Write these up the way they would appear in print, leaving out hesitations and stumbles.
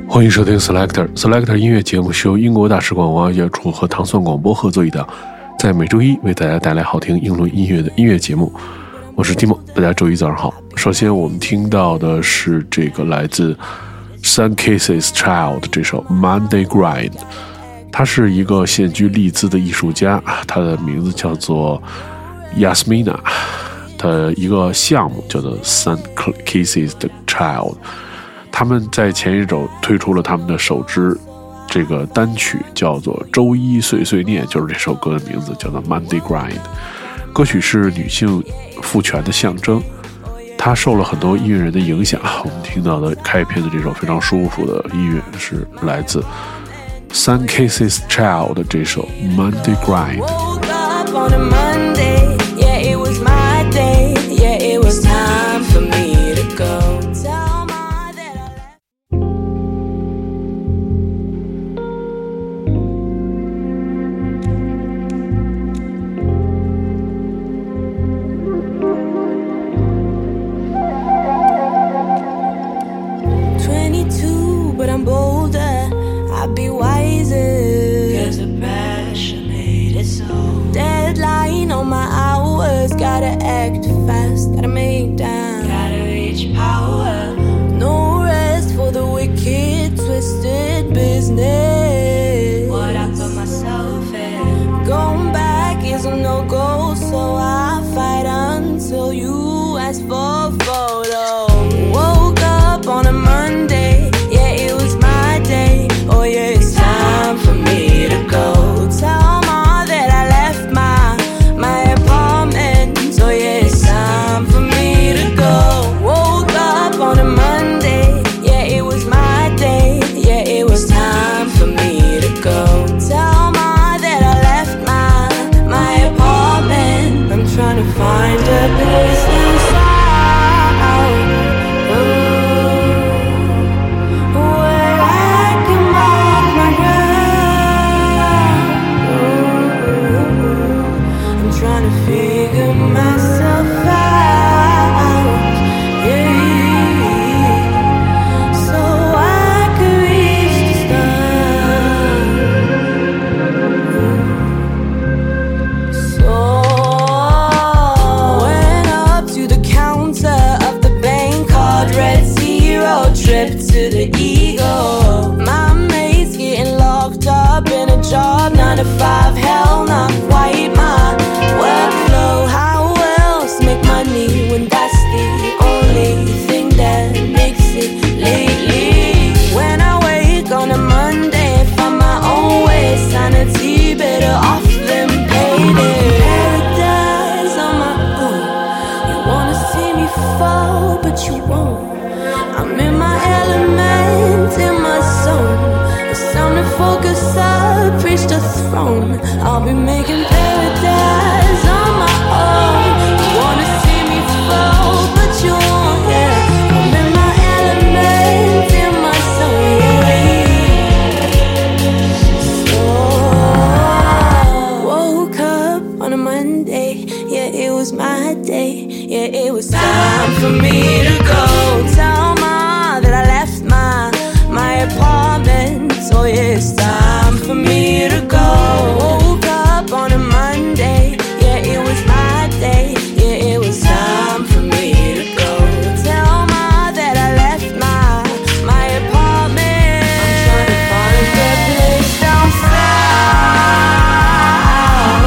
欢迎收听 Selector 音乐节目，是由英国大使馆文化艺术处和糖蒜广播合作一档，在每周一为大家带来好听英伦音乐的音乐节目。我是 Timo， 大家周一早上好。首先我们听到的是这个来自 Sun Kisses Child 这首 Monday Grind， 他是一个现居利兹的艺术家，他的名字叫做 Yasmina， 他一个项目叫做 Sun Kisses Child。他们在前一周推出了他们的首支这个单曲，叫做周一碎碎念，就是这首歌的名字，叫做 Monday Grind。 歌曲是女性赋权的象征，它受了很多音乐人的影响。我们听到的开篇的这首非常舒服的音乐是来自 Sun Kisses Child 的这首 Monday Grind。 Gotta act fast, gotta make time, gotta reach power. No rest for the wicked, twisted business. What I put myself in. Going back is a no-go, so I fight until you ask for a photo. Woke up on a Monday, yeah, it was my day. Oh yeah, it's time for me to go. Tell Ma that I left my apartment. So yeah, it's time for me to go. Woke up on a Monday, yeah, it was my day. Yeah, it was time for me to go. Tell Ma that I left my apartment. I'm trying to find a place inside where I can mark my ground. I'm trying to figure myself out, yeah, so I could reach the stars. So went up to the counter of the bank, card read 0, trip to the Eagle. My mate's getting locked up in a job, 9 to 5, hell not quite my workflow. How else make money when that's the only thing that makes it lately? When I wake on a Monday, find my own way, sanity better off than payday. Paradise on my own. You wanna see me fall, but you won't. I'm in my element, in my zone. It's time to focus up, reach the throne. I'll be making paradise on my own. You wanna see me fall, but you won't, yeah. I'm in my element, in my zone, yeah. So woke up on a Monday, yeah, it was my day. Yeah, it was time for me to go. Tell Ma that I left my apartment. So yeah, it's time for me to go. Woke up on a Monday, yeah, it was my day. Yeah, it was time for me to go. Tell Ma that I left my apartment. I'm trying to find a place down south,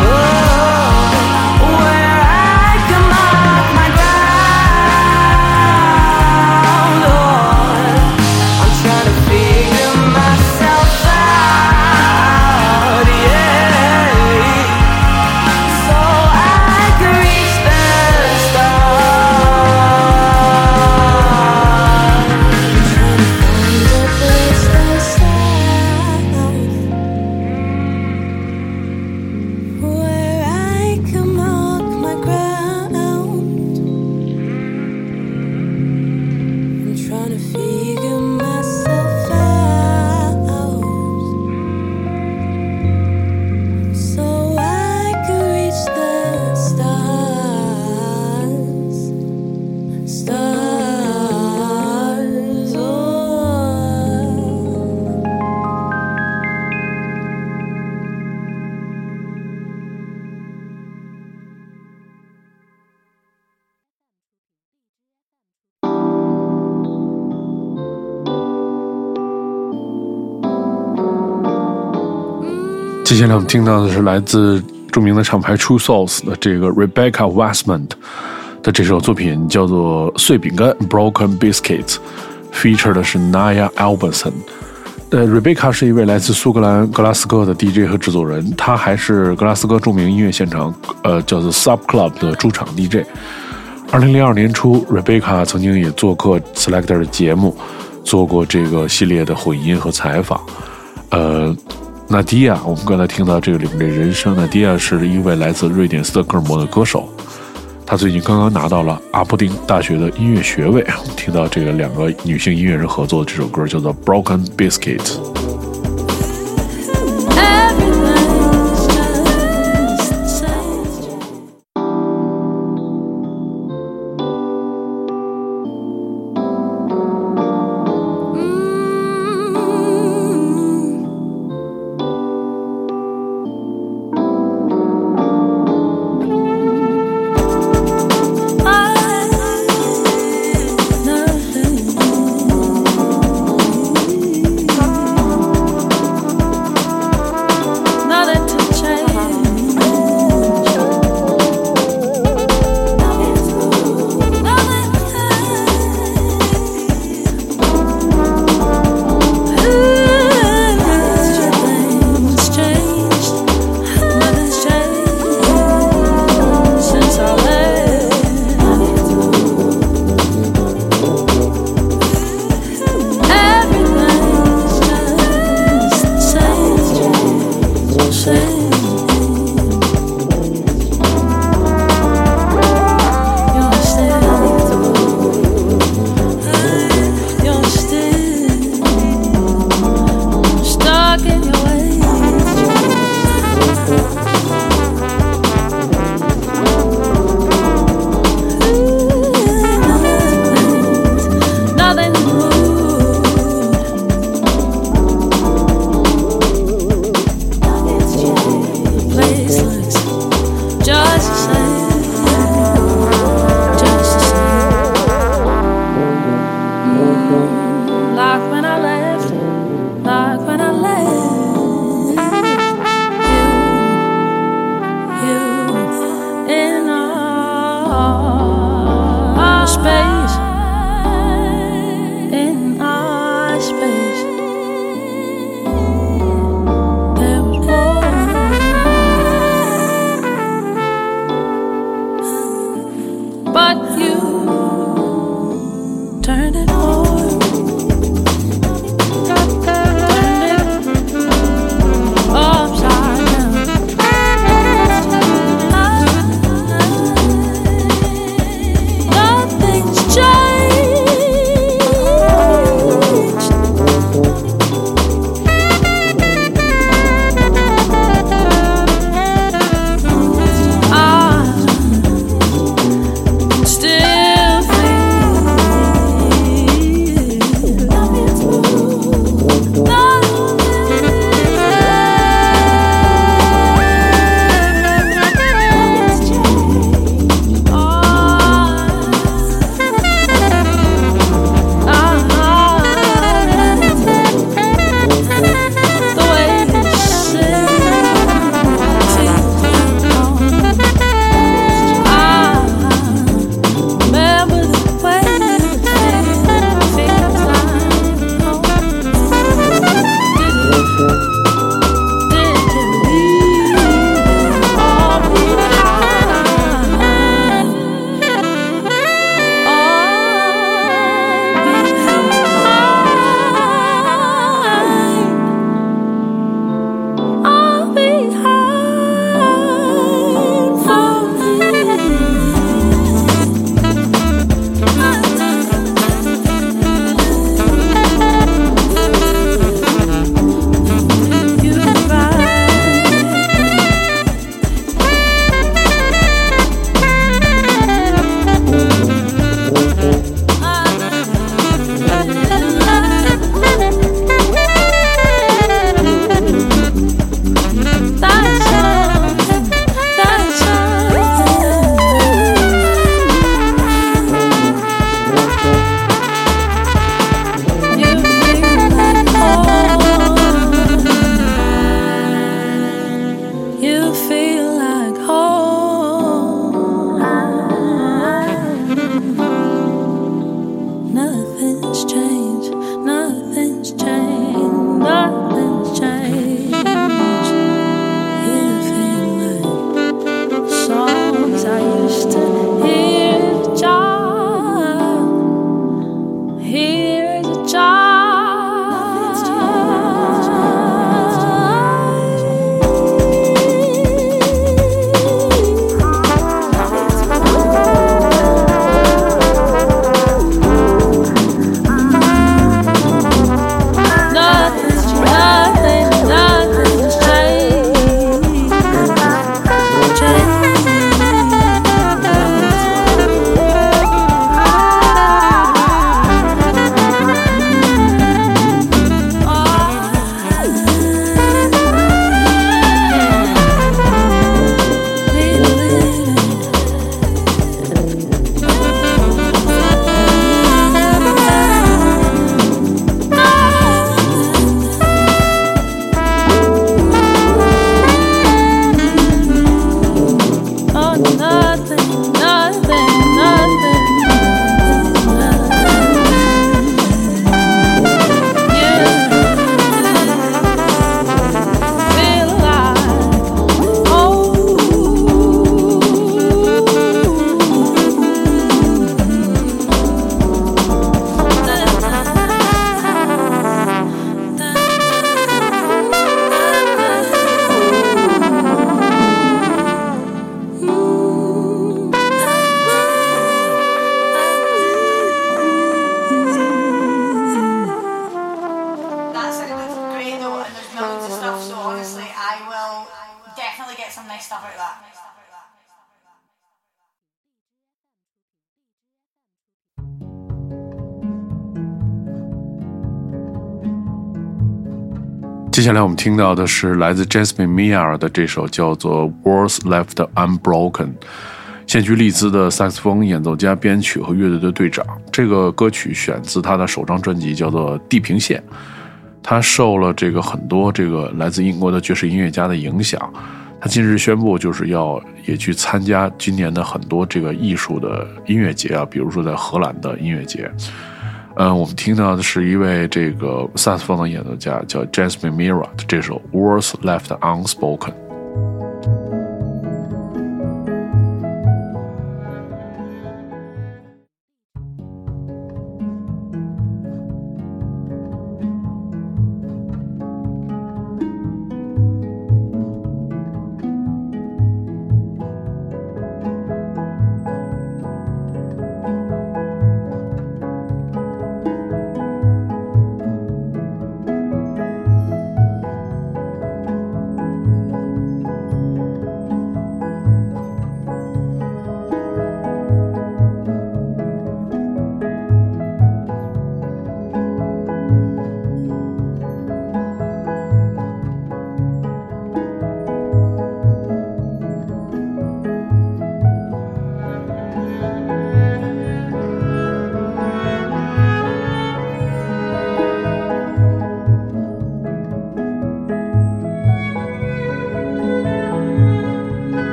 where I can mark my ground. I'm trying to figure myself out. 接下来我们听到的是来自著名的厂牌 True Souls 的这个 Rebecca Westmont 的这首作品，叫做《碎饼干》 Broken Biscuits， feature 的是 Naya Alberson。Rebecca 是一位来自苏格兰格拉斯哥的 DJ 和制作人，她还是格拉斯哥著名音乐现场叫做 Sub Club 的驻场 DJ。2002年初 Rebecca 曾经也做客 Selector 的节目，做过这个系列的混音和采访。纳迪亚，我们刚才听到这个里面的人声，纳迪亚是一位来自瑞典斯德哥尔摩的歌手，他最近刚刚拿到了阿伯丁大学的音乐学位。我们听到这个两个女性音乐人合作的这首歌叫做 Broken Biscuits。 接下来我们听到的是来自 Jasmine Mia 的这首叫做 Words Left Unbroken， 现居利兹的萨克斯风演奏家、编曲和乐队的队长。这个歌曲选自他的首张专辑叫做地平线，他受了很多来自英国的爵士音乐家的影响。他近日宣布就是也去参加今年的很多艺术的音乐节啊，比如说在荷兰的音乐节。我们听到的是一位萨克斯风的演奏家叫 Jasmine Mira 的这首 Words Left Unspoken。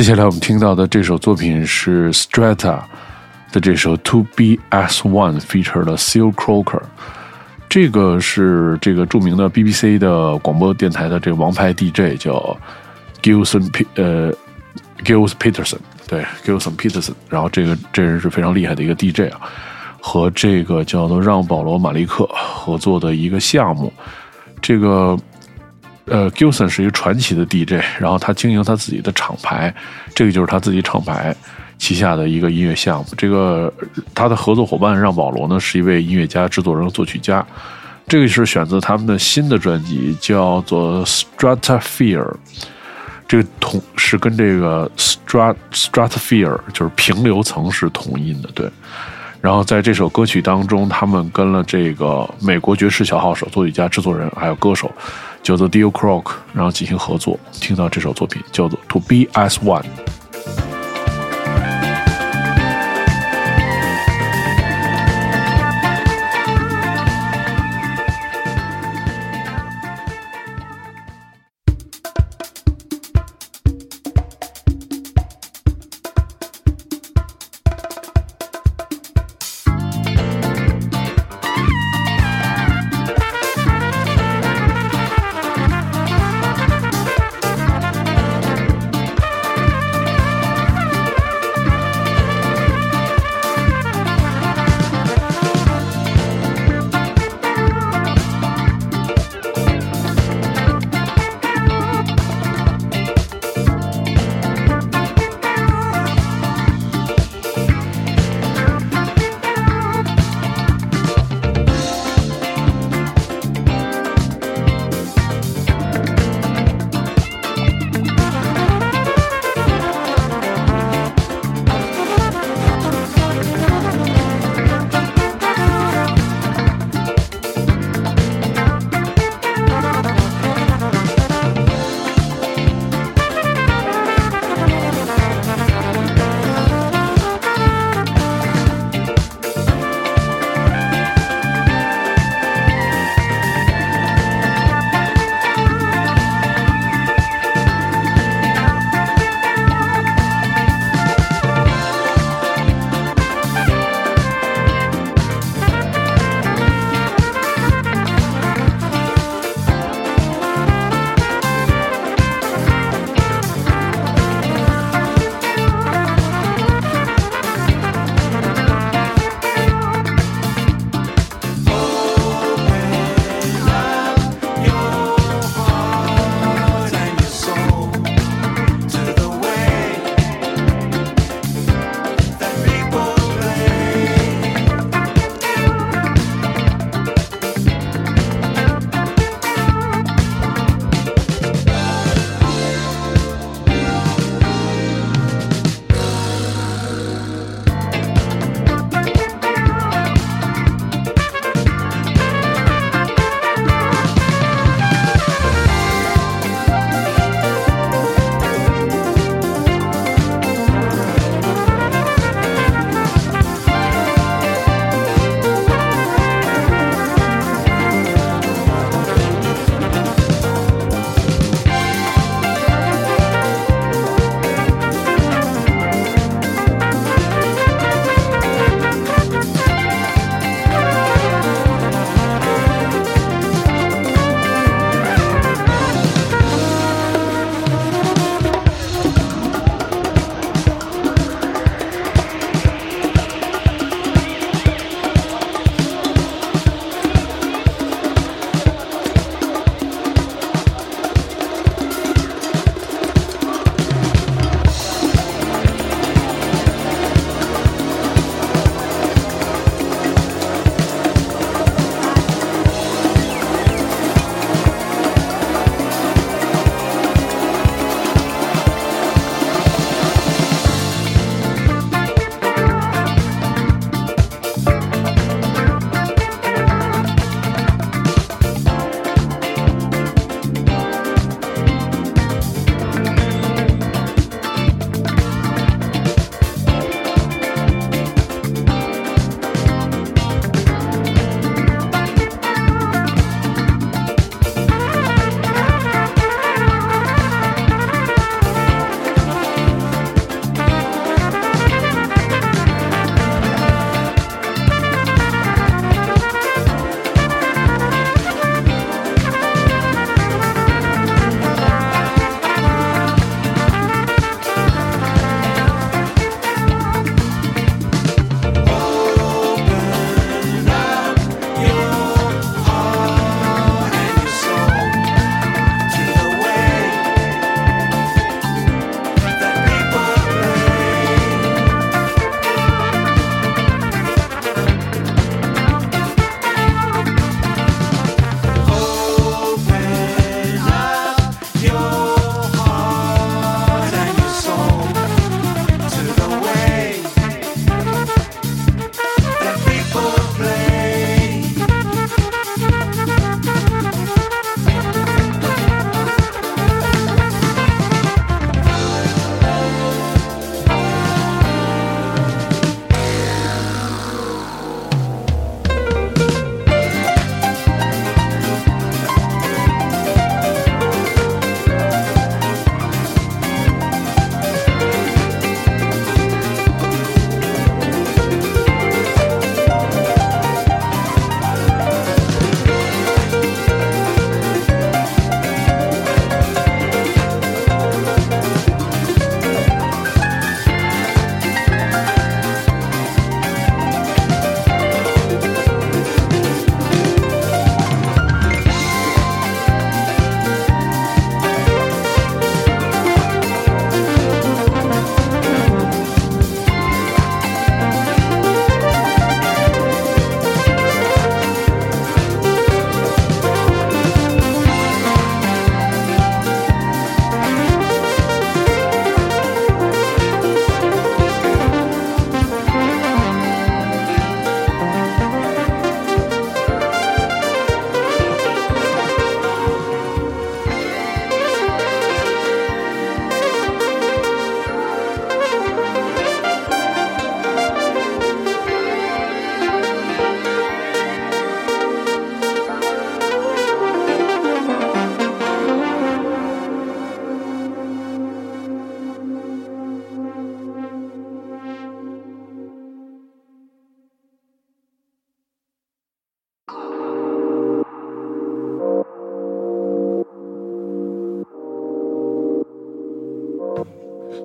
下来我们听到的这首作品是 Strata 的这首 To Be As One featured Seal Croker。这个是这个著名的 BBC 的广播电台的这个王牌 DJ 叫 Gilson Peterson， 对 Gilson Peterson， 然后这人是非常厉害的一个 DJ 啊，和这个叫做让保罗马利克合作的一个项目。这个Gilson 是一个传奇的 DJ， 然后他经营他自己的厂牌，这个就是他自己厂牌旗下的一个音乐项目。这个他的合作伙伴让保罗呢是一位音乐家、制作人、作曲家。这个是选择他们的新的专辑，叫做 Stratosphere。这个是跟这个 Stratosphere 就是平流层是同音的，对。然后在这首歌曲当中，他们跟了这个美国爵士小号手、作曲家、制作人还有歌手叫做 Dio Croc， 然后进行合作。听到这首作品叫做 To Be As One。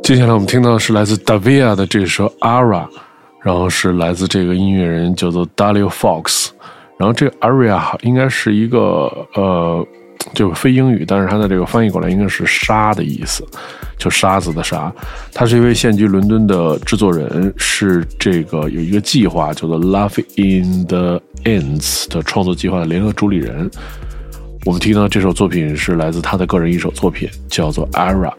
接下来我们听到的是来自 Davia 的这首 Aria， 然后是来自这个音乐人叫做 Dario Fox， 然后这个 Aria 应该是一个就非英语，但是它的这个翻译过来应该是沙的意思，就沙子的沙。他是一位现居伦敦的制作人，是这个有一个计划叫做 Love in the Ends 的创作计划的联合主理人。我们听到这首作品是来自他的个人一首作品，叫做 Aria。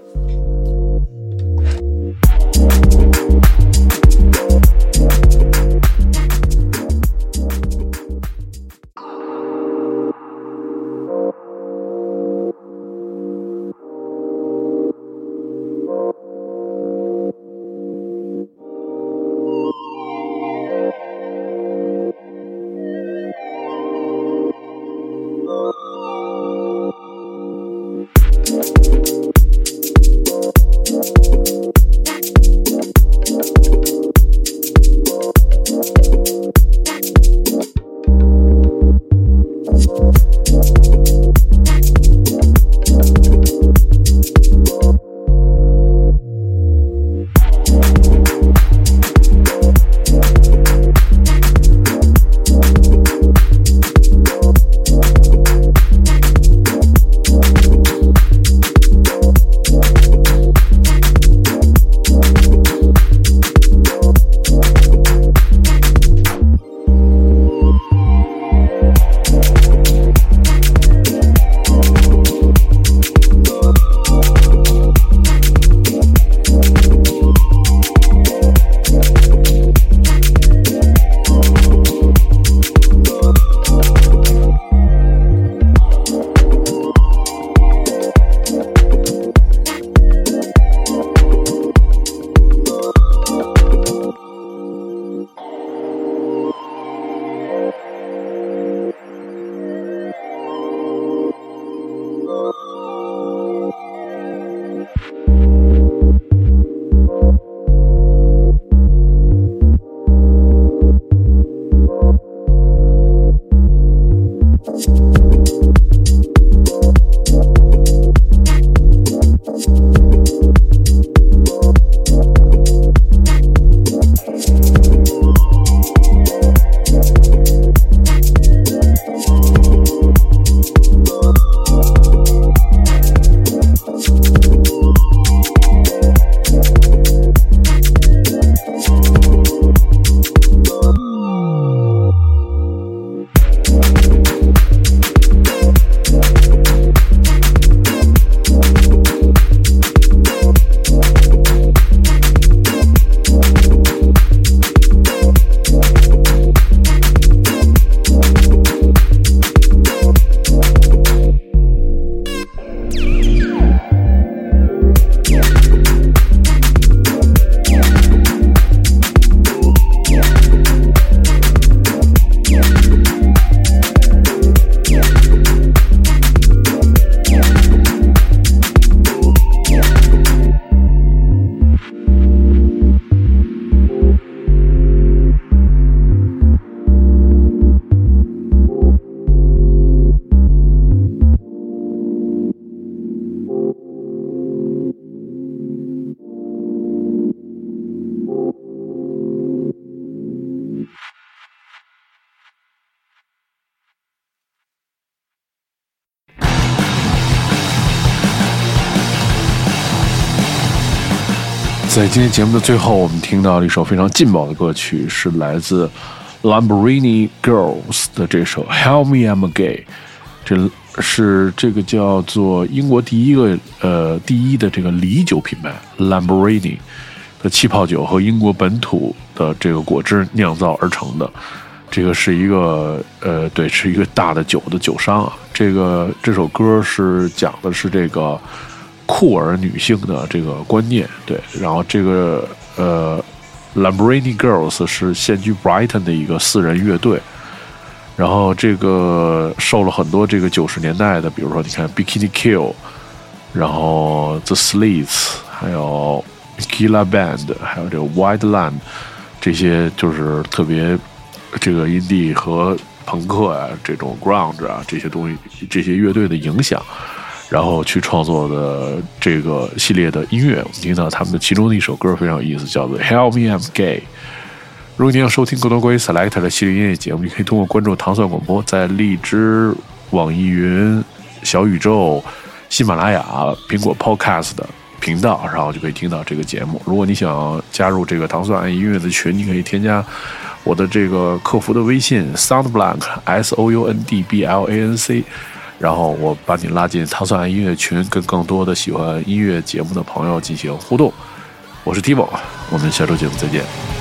在今天节目的最后，我们听到了一首非常劲爆的歌曲，是来自 Lamborghini Girls 的这首 Help Me I'm Gay。 这是这个叫做英国第一的这个梨酒品牌 Lamborghini 的气泡酒和英国本土的这个果汁酿造而成的。这个是一个是一个大的酒的酒商啊。这首歌是讲的是这个酷儿女性的这个观念，对。然后这个Lamborghini Girls 是现居 Brighton 的一个4人乐队，然后这个受了很多这个90年代的，比如说你看 Bikini Kill， 然后 The Slits， 还有 Killa Band， 还有这个 White Land， 这些就是特别这个indie地和朋克啊，这种 grunge 啊，这些东西，这些乐队的影响。 然后去创作的这个系列的音乐。我们听到他们的其中的一首歌非常有意思，叫做 Help Me I'm Gay。如果你要收听更多关于 Selector 的系列音乐节目，你可以通过关注糖蒜广播，在荔枝、网易云、小宇宙、喜马拉雅、苹果 Podcast 的频道，然后就可以听到这个节目。如果你想加入这个糖蒜爱音乐的群，你可以添加我的这个客服的微信 Soundblank SOUNDBLANC， 然后我把你拉进糖蒜爱音乐群，跟更多的喜欢音乐节目的朋友进行互动。我是 Timo， 我们下周节目再见。